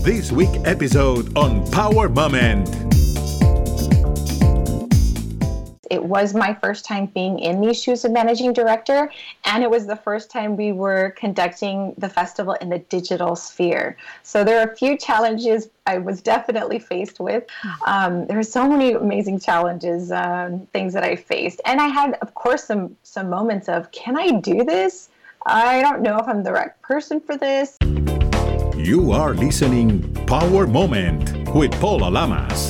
this week's episode on Power Moment. It was my first time being in these shoes of managing director, and it was the first time we were conducting the festival in the digital sphere. So there are a few challenges I was definitely faced with. There are so many amazing challenges, things that I faced. And I had, of course, some moments of, can I do this? I don't know if I'm the right person for this. You are listening Power Moment with Paula Lamas.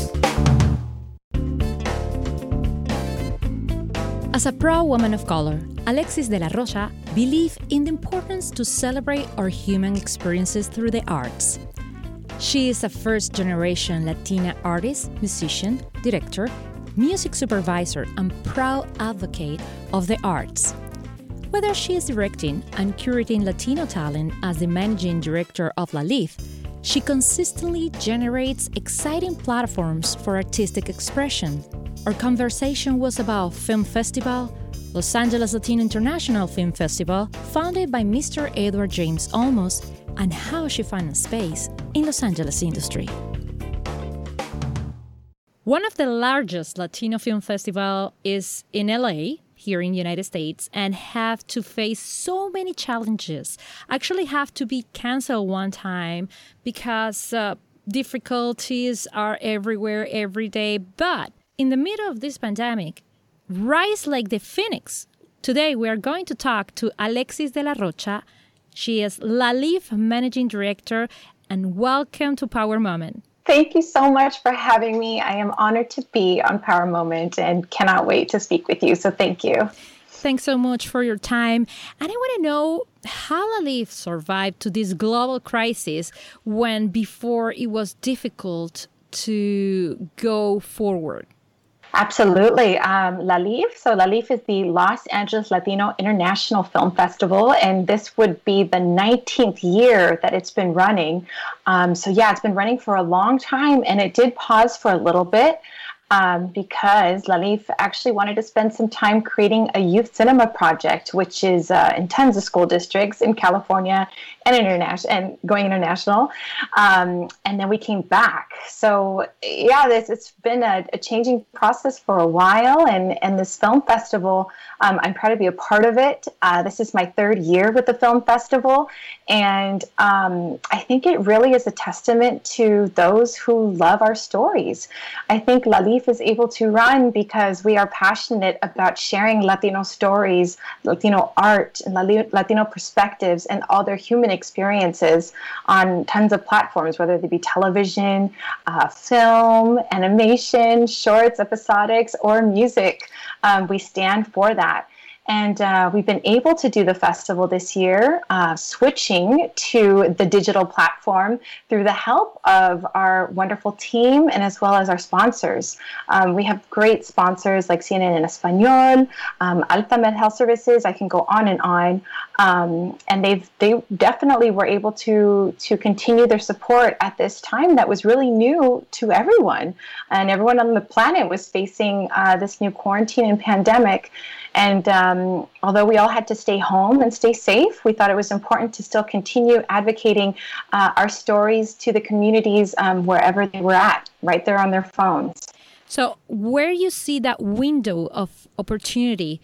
As a proud woman of color, Alexis de la Rocha believes in the importance to celebrate our human experiences through the arts. She is a first-generation Latina artist, musician, director, music supervisor, and proud advocate of the arts. Whether she is directing and curating Latino talent as the managing director of LALIFF, she consistently generates exciting platforms for artistic expression. Our conversation was about Film Festival, Los Angeles Latino International Film Festival, founded by Mr. Edward James Olmos, and how she found a space in Los Angeles industry. One of the largest Latino film festivals is in LA, here in the United States, and have to face so many challenges. Actually have to be canceled one time because difficulties are everywhere, every day. But in the middle of this pandemic, rise like the phoenix. Today, we are going to talk to Alexis de la Rocha. She is LALIFF Managing Director, and welcome to Power Moment. Thank you so much for having me. I am honored to be on Power Moment and cannot wait to speak with you. So thank you. Thanks so much for your time. And I want to know how LALIFF survived to this global crisis when before it was difficult to go forward. Absolutely. LALIFF. So LALIFF is the Los Angeles Latino International Film Festival, and this would be the 19th year that it's been running. It's been running for a long time, and it did pause for a little bit because LALIFF actually wanted to spend some time creating a youth cinema project, which is in tons of school districts in California and going international. And then we came back. So it's been a changing process for a while. And this film festival, I'm proud to be a part of it. This is my third year with the film festival. And I think it really is a testament to those who love our stories. I think LALIFF is able to run because we are passionate about sharing Latino stories, Latino art, and Latino perspectives, and all their human experiences on tons of platforms, whether they be television, film, animation, shorts, episodics, or music. We stand for that. And we've been able to do the festival this year, switching to the digital platform through the help of our wonderful team and as well as our sponsors. We have great sponsors like CNN en Español, Altamed Health Services. I can go on and on. And they definitely were able to continue their support at this time that was really new to everyone. And everyone on the planet was facing this new quarantine and pandemic. And although we all had to stay home and stay safe, we thought it was important to still continue advocating our stories to the communities wherever they were at, right there on their phones. So where you see that window of opportunity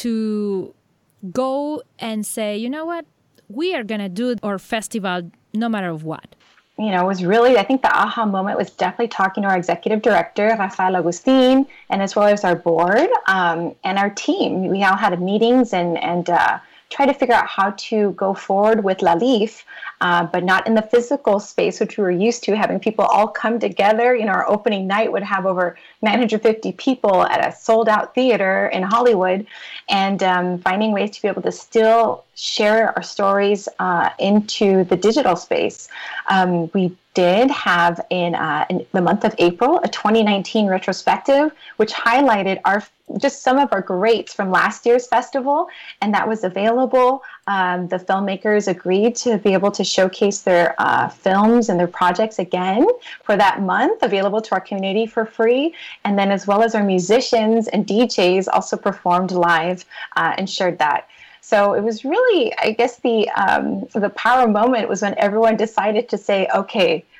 to go and say, you know what, we are going to do our festival no matter what? It was really, I think the aha moment was definitely talking to our executive director, Rafael Agustin, and as well as our board and our team. We all had meetings and try to figure out how to go forward with LALIFF, but not in the physical space, which we were used to, having people all come together. Our opening night would have over 950 people at a sold-out theater in Hollywood, and finding ways to be able to still share our stories into the digital space. We did have in the month of April a 2019 retrospective, which highlighted just some of our greats from last year's festival, and that was available. The filmmakers agreed to be able to showcase their films and their projects again for that month, available to our community for free. And then as well as our musicians and DJs also performed live and shared that. So it was really, I guess, the power moment was when everyone decided to say, okay,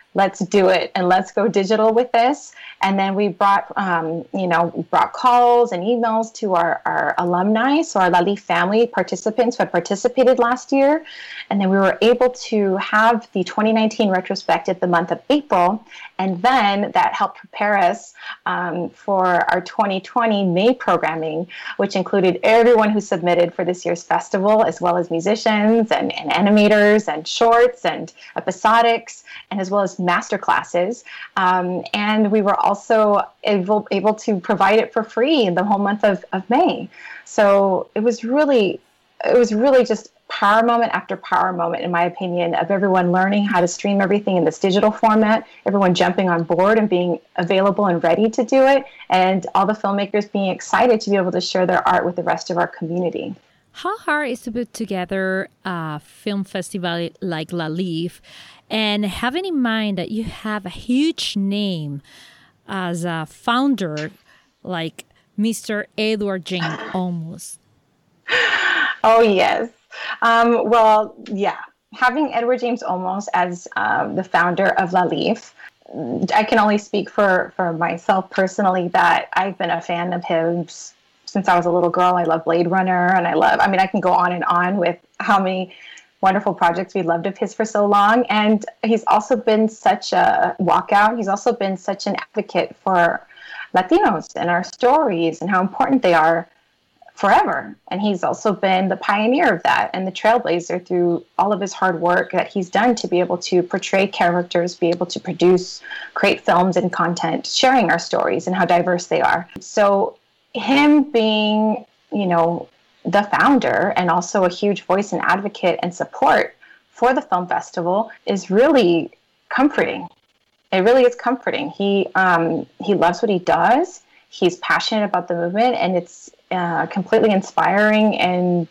let's do it and let's go digital with this. And then we brought, brought calls and emails to our alumni, so our LaLeaf family participants who had participated last year. And then we were able to have the 2019 retrospective the month of April. And then that helped prepare us for our 2020 May programming, which included everyone who submitted for this year's festival, as well as musicians and animators and shorts and episodics, and as well as master classes. And we were also able to provide it for free in the whole month of May. So it was really just power moment after power moment, in my opinion, of everyone learning how to stream everything in this digital format, everyone jumping on board and being available and ready to do it, and all the filmmakers being excited to be able to share their art with the rest of our community. How hard is to put together a film festival like LaLeaf, and having in mind that you have a huge name as a founder like Mr. Edward James Olmos? Oh, yes. Well, yeah. Having Edward James Olmos as the founder of LaLeaf, I can only speak for myself personally that I've been a fan of his since I was a little girl. I love Blade Runner, and I can go on and on with how many wonderful projects we loved of his for so long. And he's also been such a walkout. He's also been such an advocate for Latinos and our stories and how important they are forever. And he's also been the pioneer of that and the trailblazer through all of his hard work that he's done to be able to portray characters, be able to produce, create films and content, sharing our stories and how diverse they are. So him being, the founder and also a huge voice and advocate and support for the film festival is really comforting. It really is comforting. He loves what he does. He's passionate about the movement, and it's completely inspiring and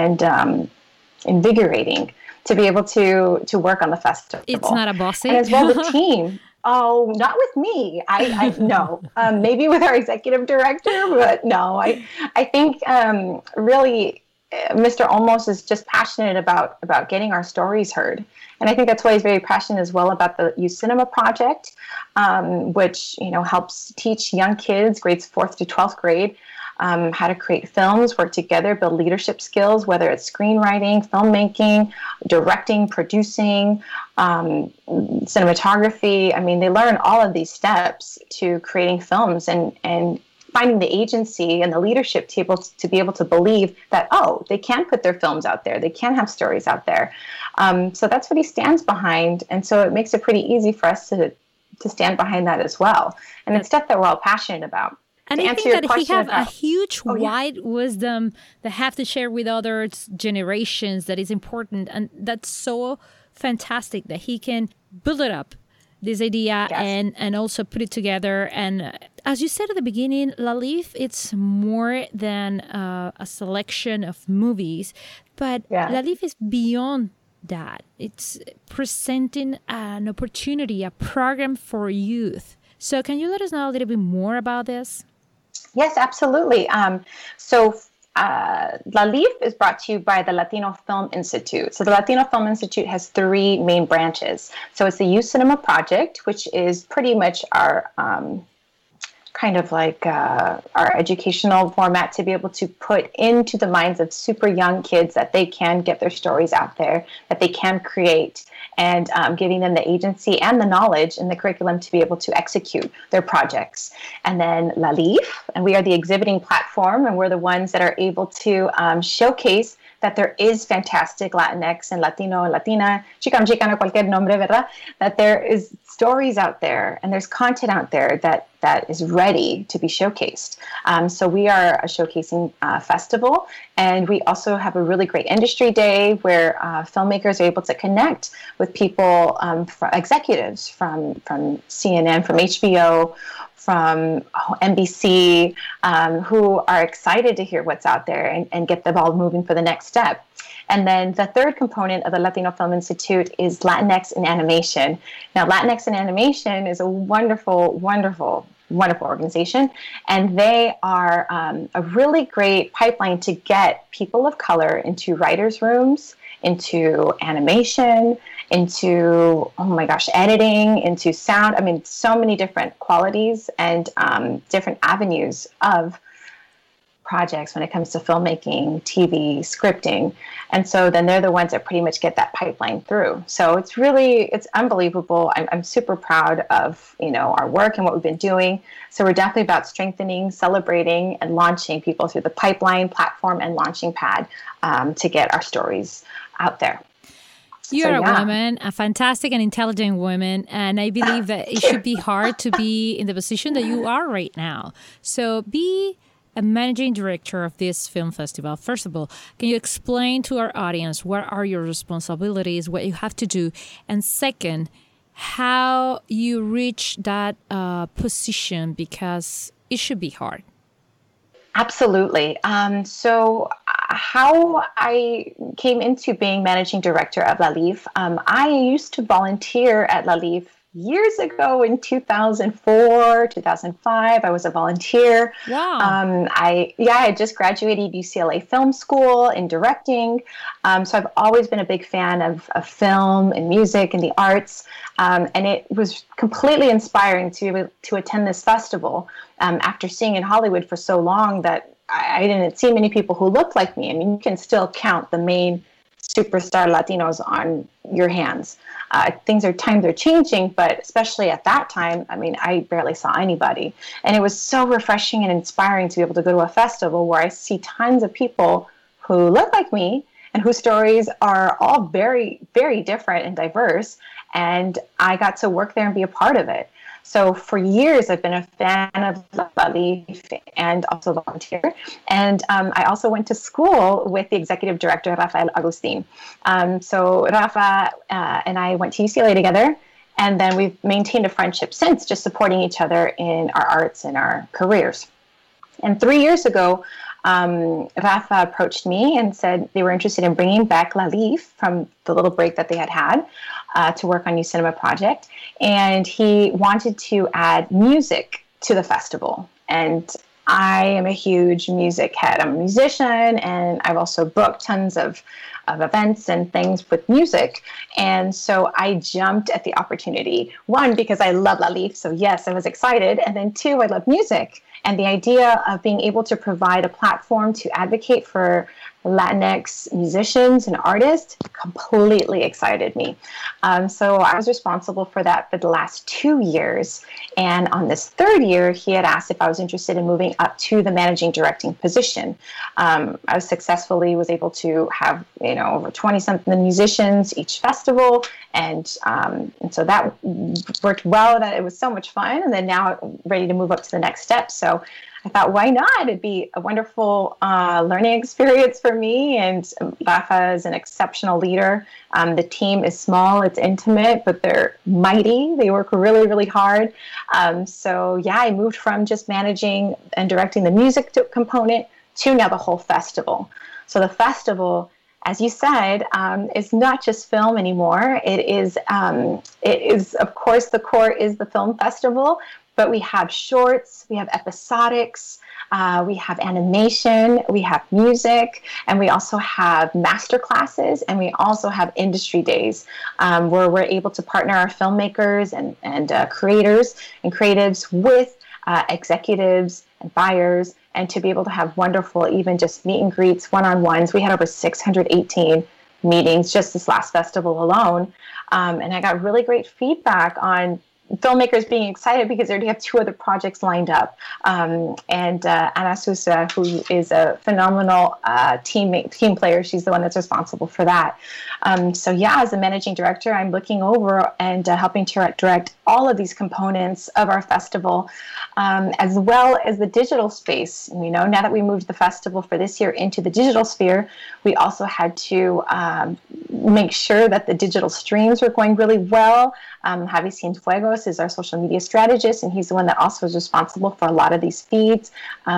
invigorating to be able to work on the festival. It's not a bossy. And as well the team. Oh, not with me. I no. Maybe with our executive director, but no. I think really Mr. Olmos is just passionate about getting our stories heard. And I think that's why he's very passionate as well about the Youth Cinema Project, which helps teach young kids, grades 4th to 12th grade, how to create films, work together, build leadership skills, whether it's screenwriting, filmmaking, directing, producing, cinematography. I mean, they learn all of these steps to creating films and finding the agency and the leadership to be able to believe that, they can put their films out there. They can have stories out there. So that's what he stands behind. And so it makes it pretty easy for us to stand behind that as well. And it's stuff that we're all passionate about. And I think that he has a huge, wide wisdom that have to share with other generations that is important. And that's so fantastic that he can build it up, this idea, yes, and also put it together. And as you said at the beginning, LaLeaf, it's more than a selection of movies, but LaLeaf is beyond that. It's presenting an opportunity, a program for youth. So can you let us know a little bit more about this? Yes, absolutely. LaLeaf is brought to you by the Latino Film Institute. So the Latino Film Institute has 3 main branches. So it's the Youth Cinema Project, which is pretty much our kind of like our educational format to be able to put into the minds of super young kids that they can get their stories out there, that they can create, and giving them the agency and the knowledge and the curriculum to be able to execute their projects. And then LaLeaf, and we are the exhibiting platform, and we're the ones that are able to showcase that there is fantastic Latinx and Latino and Latina, Chicano, cualquier nombre, ¿verdad? That there is stories out there and there's content out there that is ready to be showcased. So we are a showcasing festival, and we also have a really great industry day where filmmakers are able to connect with people, executives from CNN, from HBO, from NBC, who are excited to hear what's out there and get the ball moving for the next step. And then the third component of the Latino Film Institute is Latinx in Animation. Now, Latinx in Animation is a wonderful, wonderful, wonderful organization, and they are a really great pipeline to get people of color into writers' rooms, into animation, into, oh my gosh, editing, into sound. I mean, so many different qualities and different avenues of projects when it comes to filmmaking, TV, scripting. And so then they're the ones that pretty much get that pipeline through. So it's unbelievable. I'm super proud of, our work and what we've been doing. So we're definitely about strengthening, celebrating, and launching people through the pipeline, platform, and launching pad to get our stories out there. You're a woman, a fantastic and intelligent woman, and I believe that it should be hard to be in the position that you are right now. So be a managing director of this film festival. First of all, can you explain to our audience what are your responsibilities, what you have to do? And second, how you reach that position, because it should be hard. Absolutely. So how I came into being managing director of LaLeaf, I used to volunteer at LaLeaf years ago in 2004, 2005. I was a volunteer. Wow. I just graduated UCLA Film School in directing. So I've always been a big fan of film and music and the arts. And it was completely inspiring to attend this festival after seeing in Hollywood for so long that I didn't see many people who looked like me. I mean, you can still count the main superstar Latinos on your hands. Times are changing, but especially at that time, I mean, I barely saw anybody. And it was so refreshing and inspiring to be able to go to a festival where I see tons of people who look like me and whose stories are all very, very different and diverse. And I got to work there and be a part of it. So for years, I've been a fan of LaLeaf and also volunteer. And I also went to school with the executive director, Rafael Agustin. So Rafa and I went to UCLA together. And then we've maintained a friendship since, just supporting each other in our arts and our careers. And 3 years ago, Rafa approached me and said they were interested in bringing back LaLeaf from the little break that they had to work on New Cinema Project. And he wanted to add music to the festival. And I am a huge music head. I'm a musician, and I've also booked tons of events and things with music. And so I jumped at the opportunity. One, because I love LaLeaf, so yes, I was excited. And then two, I love music. And the idea of being able to provide a platform to advocate for Latinx musicians and artists completely excited me. So I was responsible for that for the last 2 years. And on this third year, he had asked if I was interested in moving up to the managing directing position. I was able to have, over 20-something musicians each festival. And so that worked well, that it was so much fun. And then now I'm ready to move up to the next step. So I thought, why not? It'd be a wonderful learning experience for me. And Rafa is an exceptional leader. The team is small, it's intimate, but they're mighty. They work really, really hard. I moved from just managing and directing the music component to now the whole festival. So the festival, as you said, is not just film anymore. It is, of course, the core is the film festival. But we have shorts, we have episodics, we have animation, we have music, and we also have master classes, and we also have industry days where we're able to partner our filmmakers and creators and creatives with executives and buyers, and to be able to have wonderful, even just meet and greets, one-on-ones. We had over 618 meetings just this last festival alone, and I got really great feedback on filmmakers being excited because they already have 2 other projects lined up. And Ana Sousa, who is a phenomenal team player, she's the one that's responsible for that. As a managing director, I'm looking over and helping to direct all of these components of our festival, as well as the digital space. Now that we moved the festival for this year into the digital sphere, we also had to make sure that the digital streams were going really well. Javi Cienfuegos is our social media strategist, and he's the one that also is responsible for a lot of these feeds.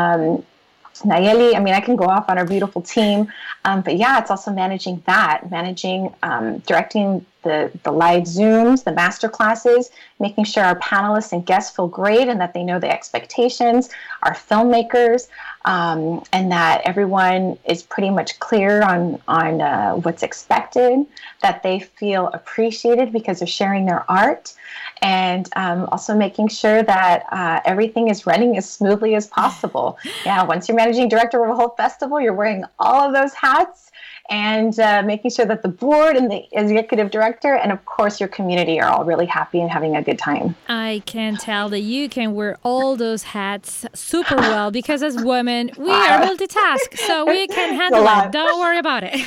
Nayeli, I can go off on our beautiful team. It's also managing, directing the live Zooms, the master classes, making sure our panelists and guests feel great and that they know the expectations, our filmmakers, and that everyone is pretty much clear on what's expected, that they feel appreciated because they're sharing their art, and also making sure that everything is running as smoothly as possible. Yeah, once you're managing director of a whole festival, you're wearing all of those hats, and making sure that the board and the executive director and, of course, your community are all really happy and having a good time. I can tell that you can wear all those hats super well because as women, we are multitask, so we can handle it. Don't worry about it.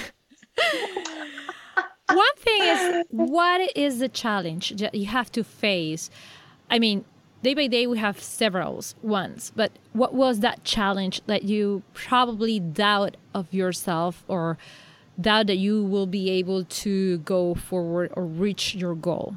One thing is, what is the challenge that you have to face? I mean, day by day, we have several ones, but what was that challenge that you probably doubt of yourself or doubt that you will be able to go forward or reach your goal?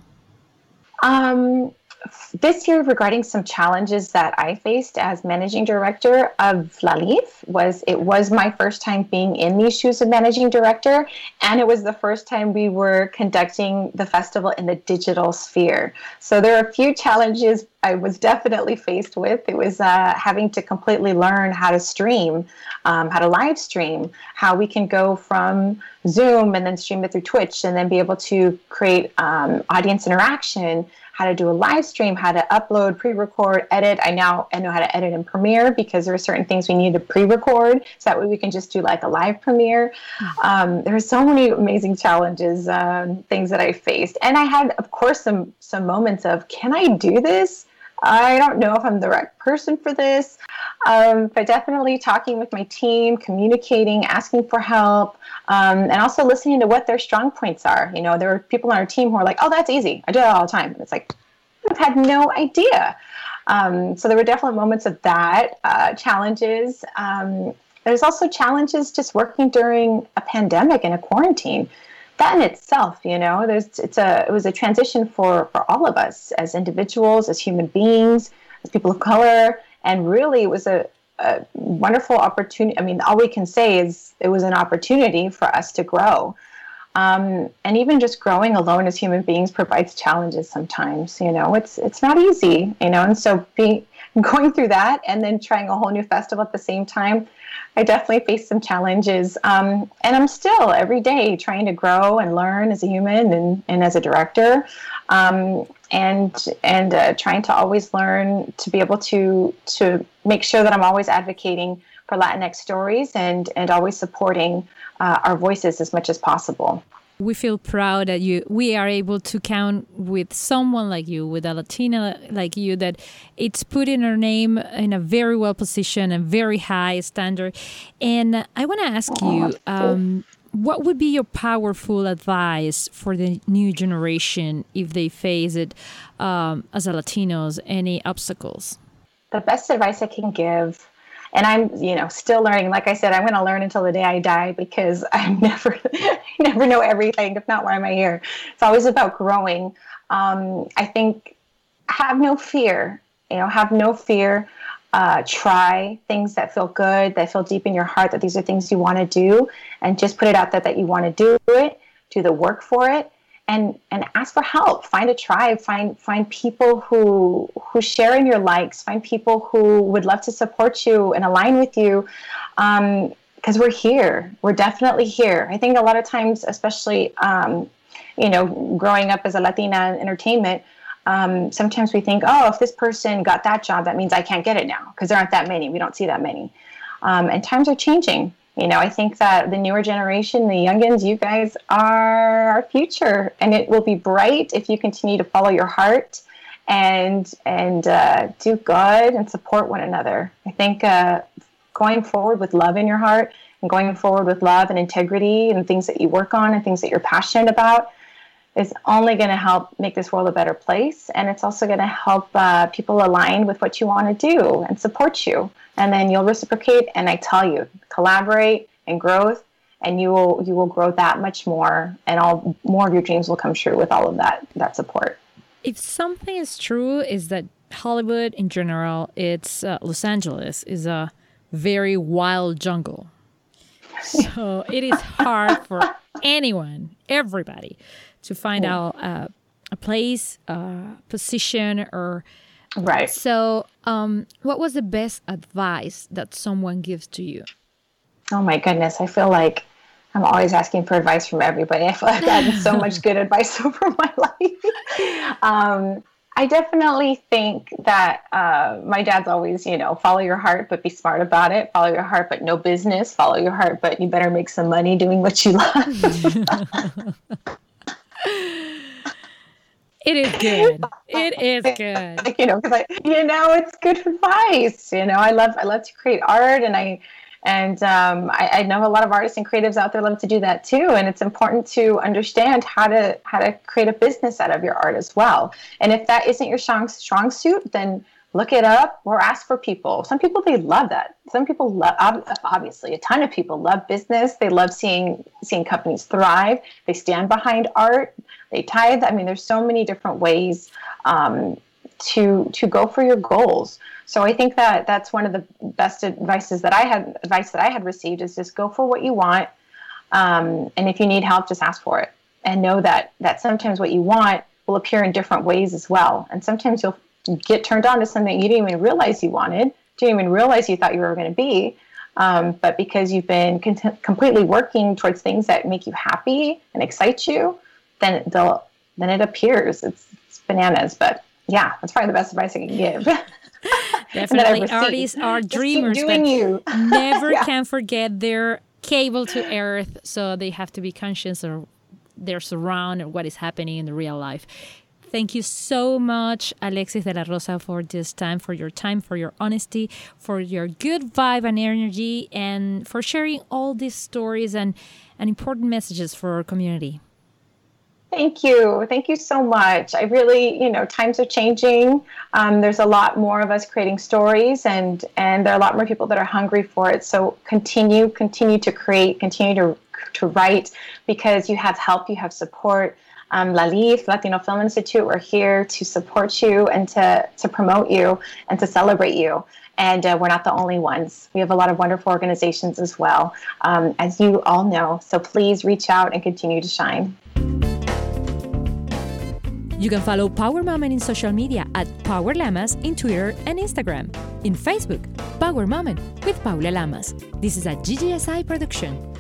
This year, regarding some challenges that I faced as managing director of La Lif, it was my first time being in these shoes of managing director, and it was the first time we were conducting the festival in the digital sphere. So there are a few challenges I was definitely faced with. It was having to completely learn how to stream, how to live stream, how we can go from Zoom and then stream it through Twitch and then be able to create audience interaction, how to do a live stream, how to upload, pre-record, edit. I know how to edit in Premiere because there are certain things we need to pre-record, so that way we can just do like a live premiere. There are so many amazing challenges, things that I faced. And I had, of course, some moments of, can I do this? I don't know if I'm the right person for this, but definitely talking with my team, communicating, asking for help, and also listening to what their strong points are. You know, there are people on our team who are like, oh, that's easy. I do that all the time. And it's like, I've had no idea. So there were definitely moments of that, challenges. There's also challenges just working during a pandemic and a quarantine. That in itself, you know, it was a transition for all of us as individuals, as human beings, as people of color, and really it was a wonderful opportunity. I mean, all we can say is it was an opportunity for us to grow. And even just growing alone as human beings provides challenges sometimes, you know, it's not easy, you know, and so going through that and then trying a whole new festival at the same time, I definitely faced some challenges. And I'm still every day trying to grow and learn as a human and as a director, and trying to always learn to be able to make sure that I'm always advocating for Latinx stories and always supporting our voices as much as possible. We feel proud that we are able to count with someone like you, with a Latina like you, that it's putting her name in a very well positioned and very high standard. And I want to ask you, what would be your powerful advice for the new generation if they face it as a Latinos, any obstacles? The best advice I can give, and I'm, you know, still learning. Like I said, I'm going to learn until the day I die because I never know everything. If not, why am I here? It's always about growing. I think have no fear. You know, have no fear. Try things that feel good, that feel deep in your heart, that these are things you want to do, and just put it out there that you want to do it. Do the work for it. And ask for help. Find a tribe. Find people who share in your likes. Find people who would love to support you and align with you. Because we're here. We're definitely here. I think a lot of times, especially you know, growing up as a Latina in entertainment, sometimes we think, oh, if this person got that job, that means I can't get it now because there aren't that many. We don't see that many. And times are changing. You know, I think that the newer generation, the youngins, you guys are our future, and it will be bright if you continue to follow your heart and do good and support one another. I think going forward with love in your heart and going forward with love and integrity and things that you work on and things that you're passionate about is only going to help make this world a better place. And it's also going to help people align with what you want to do and support you. And then you'll reciprocate. And I tell you, collaborate and growth, and you will grow that much more. And more of your dreams will come true with all of that support. If something is true, is that Hollywood in general, it's Los Angeles is a very wild jungle. So it is hard for everybody to find out a place, position, or... Right. So what was the best advice that someone gives to you? Oh my goodness. I feel like I'm always asking for advice from everybody. I feel like I've gotten so much good advice over my life. I definitely think that my dad's always, follow your heart, but be smart about it. Follow your heart, but no business. Follow your heart, but you better make some money doing what you love. It is good. It is good. Because it's good advice. I love to create art, and I know a lot of artists and creatives out there love to do that too. And it's important to understand how to create a business out of your art as well. And if that isn't your strong suit, then look it up or ask for people. Some people, they love that. Some people love, obviously, a ton of people love business. They love seeing companies thrive. They stand behind art. They tithe. I mean, there's so many different ways to go for your goals. So I think that that's one of the best advice that I had received is just go for what you want. And if you need help, just ask for it. And know that sometimes what you want will appear in different ways as well. And sometimes you'll get turned on to something you didn't even realize you wanted, didn't even realize you thought you were going to be. But because you've been completely working towards things that make you happy and excite you, then it appears. It's bananas. But yeah, that's probably the best advice I can give. Definitely, artists are dreamers, but never can forget their cable to earth. So they have to be conscious of their surround and what is happening in the real life. Thank you so much, Alexis de la Rosa, for this time, for your honesty, for your good vibe and energy, and for sharing all these stories and important messages for our community. Thank you. Thank you so much. I really, times are changing. There's a lot more of us creating stories, and there are a lot more people that are hungry for it. So continue to create, continue to write, because you have help, you have support. LALIFF, Latino Film Institute, we're here to support you and to promote you and to celebrate you. And we're not the only ones. We have a lot of wonderful organizations as well, as you all know. So please reach out and continue to shine. You can follow Power Moment in social media at Power Lamas in Twitter and Instagram. In Facebook, Power Moment with Paula Lamas. This is a GGSI production.